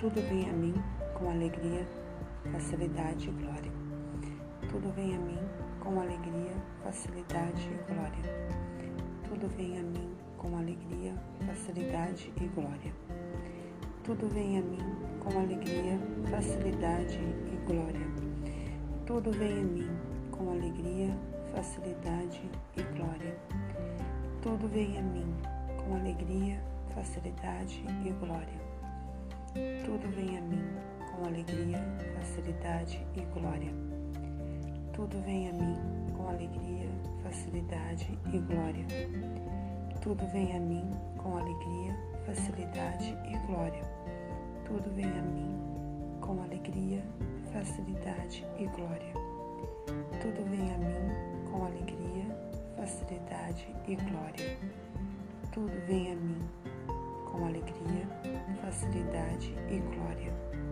Tudo vem a mim com alegria, facilidade e glória. Tudo vem a mim com alegria, facilidade e glória. Tudo vem a mim com alegria, facilidade e glória. Tudo vem a mim com alegria, facilidade e glória. Tudo vem a mim com alegria, facilidade e glória. Tudo vem a mim com alegria, facilidade e glória. Tudo vem a mim com alegria, facilidade e glória. Tudo vem a mim com alegria, facilidade e glória. Tudo vem a mim com alegria, facilidade e glória. Tudo vem a mim com alegria, facilidade e glória. Tudo vem a mim com alegria, facilidade e glória. Tudo vem a mim com alegria, facilidade e glória.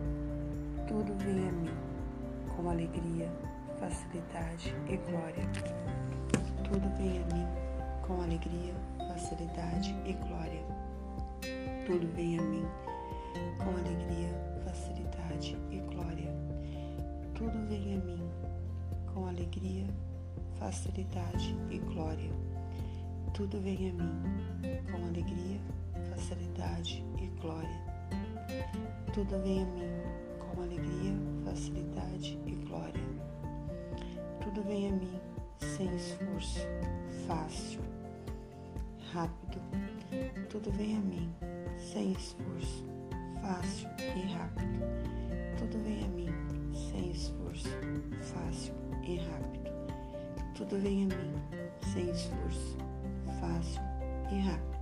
Tudo vem a mim com alegria, facilidade e glória. Tudo vem a mim com alegria, facilidade e glória. Tudo vem a mim com alegria, facilidade e glória. Tudo vem a mim com alegria, facilidade e glória. Tudo vem a mim com alegria, facilidade e glória. Tudo vem a mim com alegria, facilidade e glória. Tudo vem a mim sem esforço, fácil, rápido. Tudo vem a mim sem esforço, fácil e rápido. Tudo vem a mim sem esforço, fácil e rápido. Tudo vem a mim sem esforço, fácil e rápido.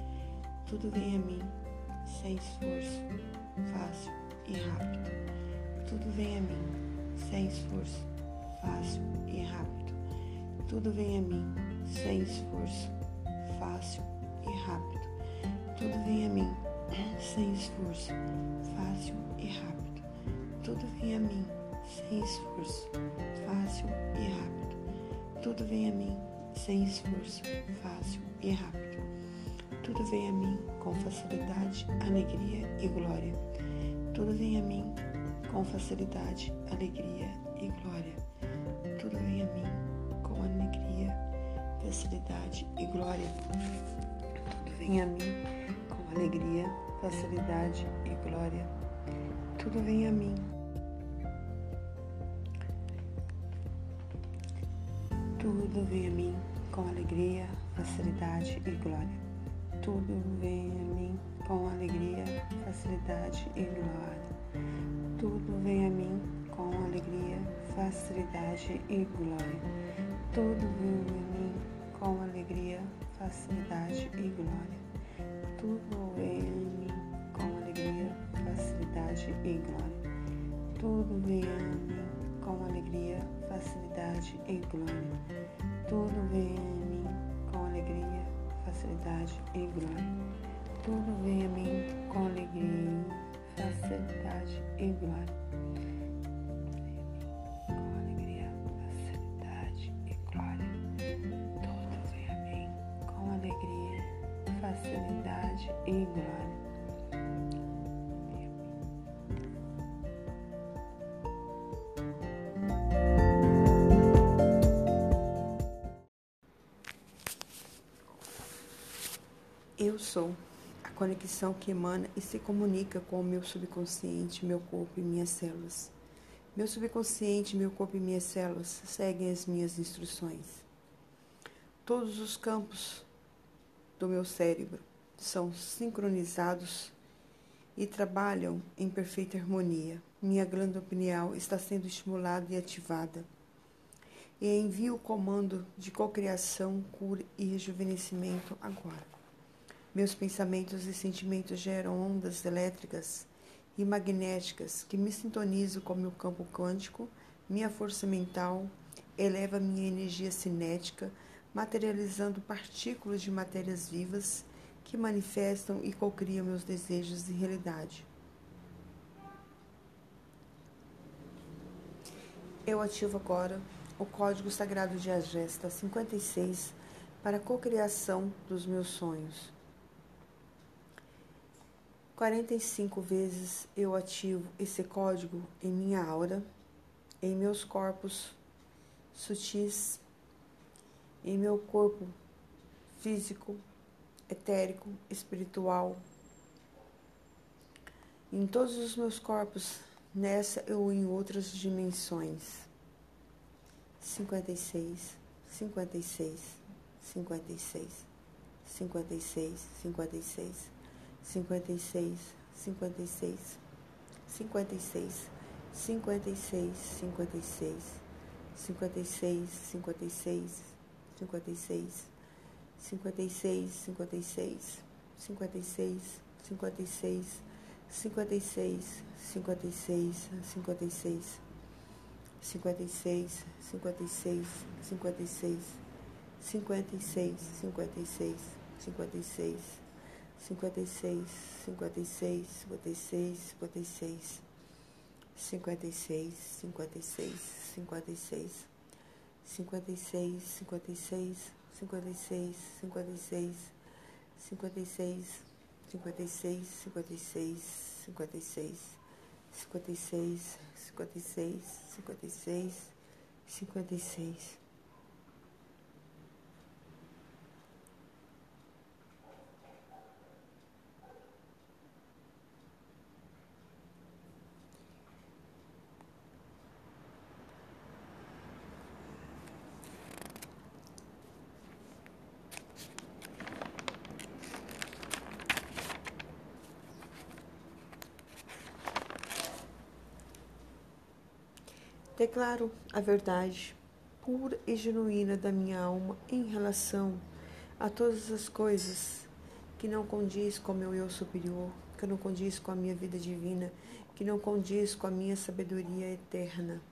Tudo vem a mim sem esforço, fácil e rápido. Tudo vem a mim sem esforço, fácil e rápido. Tudo vem a mim sem esforço, fácil e rápido. Tudo vem a mim sem esforço, fácil e rápido. Tudo vem a mim sem esforço, fácil e rápido. Tudo vem a mim sem esforço, fácil e rápido. Tudo vem a mim com facilidade, alegria e glória. Tudo vem a mim com facilidade, alegria e glória. Tudo vem a mim com alegria, facilidade e glória. Tudo vem a mim com alegria, facilidade e glória. Tudo vem a mim. Tudo vem a mim com alegria, facilidade e glória. Tudo vem a mim com alegria, facilidade e glória. Tudo vem a mim com alegria, facilidade e glória. Tudo vem a mim com alegria, facilidade e glória. Tudo vem a mim com alegria, facilidade e glória. Tudo vem a mim com alegria, facilidade e glória. Tudo vem a mim com alegria, facilidade e glória. Tudo vem a mim com alegria, facilidade e glória. Com alegria, facilidade e glória. Tudo vem a mim com alegria, facilidade e glória. Eu sou a conexão que emana e se comunica com o meu subconsciente, meu corpo e minhas células. Meu subconsciente, meu corpo e minhas células seguem as minhas instruções. Todos os campos do meu cérebro são sincronizados e trabalham em perfeita harmonia. Minha glândula pineal está sendo estimulada e ativada. E envio o comando de cocriação, cura e rejuvenescimento agora. Meus pensamentos e sentimentos geram ondas elétricas e magnéticas que me sintonizam com meu campo quântico. Minha força mental eleva minha energia cinética, materializando partículas de matérias vivas que manifestam e cocriam meus desejos em realidade. Eu ativo agora o código sagrado de Agesta 56 para a cocriação dos meus sonhos. 45 vezes eu ativo esse código em minha aura, em meus corpos sutis, em meu corpo físico, etérico, espiritual, em todos os meus corpos, nessa ou em outras dimensões. 56, 56, 56, 56, 56, 56, 56, 56, 56, 56, 56, 56, 56, 56, 56, 56, 56, 56, 56, 56, 56, 56, 56, 56, 56, 56, 56, 56, 56, 56, 56, 56, 56, 56, 56, 56, 56, 56, 56, 56, 56, 56, 56, 56, 56. Declaro a verdade pura e genuína da minha alma em relação a todas as coisas que não condiz com o meu eu superior, que não condiz com a minha vida divina, que não condiz com a minha sabedoria eterna.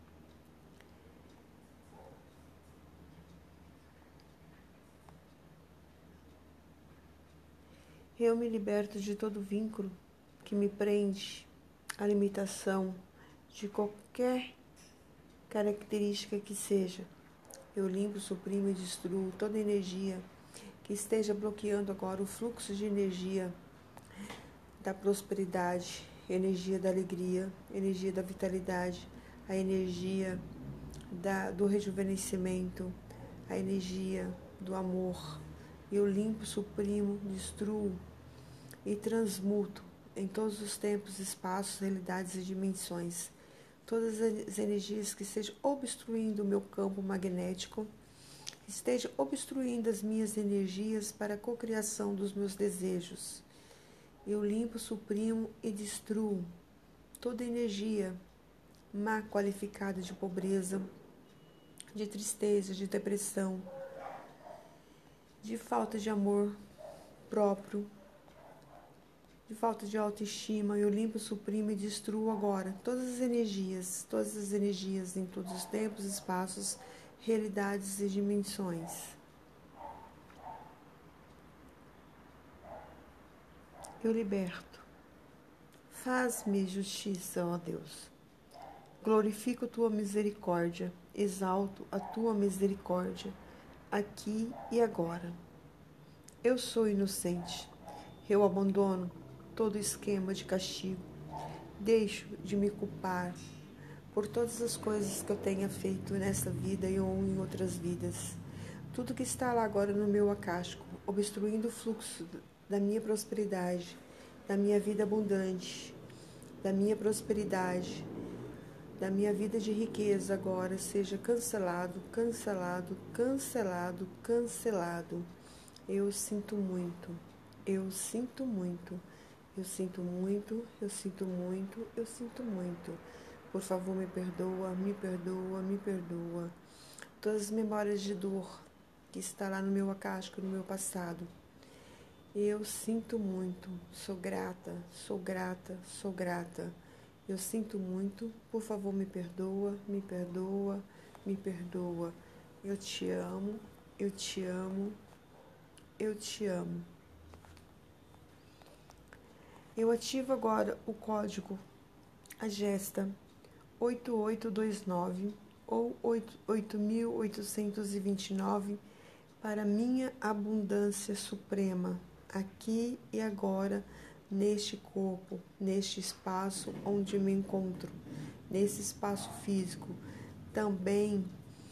Eu me liberto de todo vínculo que me prende à limitação de qualquer característica que seja. Eu limpo, suprimo e destruo toda energia que esteja bloqueando agora o fluxo de energia da prosperidade, energia da alegria, energia da vitalidade, a energia do rejuvenescimento, a energia do amor. Eu limpo, suprimo, destruo e transmuto em todos os tempos, espaços, realidades e dimensões todas as energias que estejam obstruindo o meu campo magnético, estejam obstruindo as minhas energias para a cocriação dos meus desejos. Eu limpo, suprimo e destruo toda energia má qualificada de pobreza, de tristeza, de depressão, de falta de amor próprio, de falta de autoestima. Eu limpo, suprimo e destruo agora todas as energias em todos os tempos, espaços, realidades e dimensões. Eu liberto. Faz-me justiça, ó Deus. Glorifico tua misericórdia, exalto a tua misericórdia, aqui e agora. Eu sou inocente. Eu abandono todo esquema de castigo. Deixo de me culpar por todas as coisas que eu tenha feito nessa vida e ou em outras vidas. Tudo que está lá agora no meu acástico, obstruindo o fluxo da minha prosperidade, da minha vida abundante, da minha prosperidade, da minha vida de riqueza agora, seja cancelado, cancelado, cancelado, cancelado. Eu sinto muito. Eu sinto muito, eu sinto muito, eu sinto muito, eu sinto muito. Por favor, me perdoa, me perdoa, me perdoa. Todas as memórias de dor que está lá no meu acástico, no meu passado. Eu sinto muito, sou grata, sou grata, sou grata. Eu sinto muito, por favor, me perdoa, me perdoa, me perdoa. Eu te amo, eu te amo, eu te amo. Eu ativo agora o código AGESTA 8829 ou 8829 para minha abundância suprema, aqui e agora, neste corpo, neste espaço onde me encontro, nesse espaço físico. Também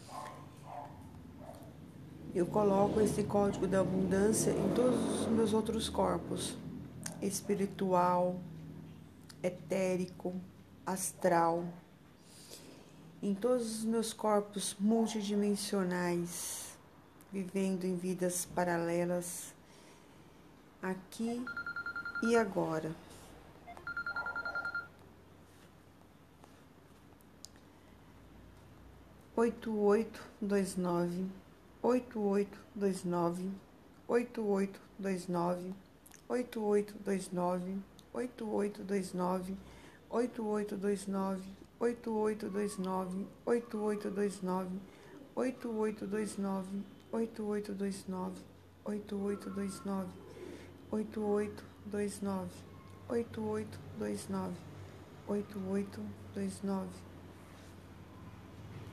eu coloco esse código da abundância em todos os meus outros corpos, espiritual, etérico, astral, em todos os meus corpos multidimensionais, vivendo em vidas paralelas, aqui e agora. Oito, 29, 8829, 8829, 8829, 8829, 8829, 8829, 8829, 8829, 8829, 8829, 8829, 8829, 8829,